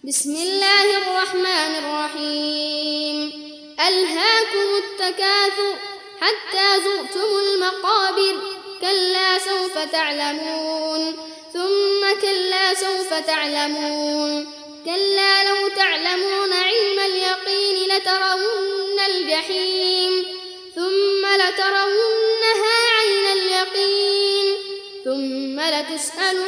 بسم الله الرحمن الرحيم. ألهاكم التكاثر حتى زرتم المقابر. كلا سوف تعلمون ثم كلا سوف تعلمون. كلا لو تعلمون علم اليقين لترون الجحيم ثم لترونها عين اليقين ثم لتسألن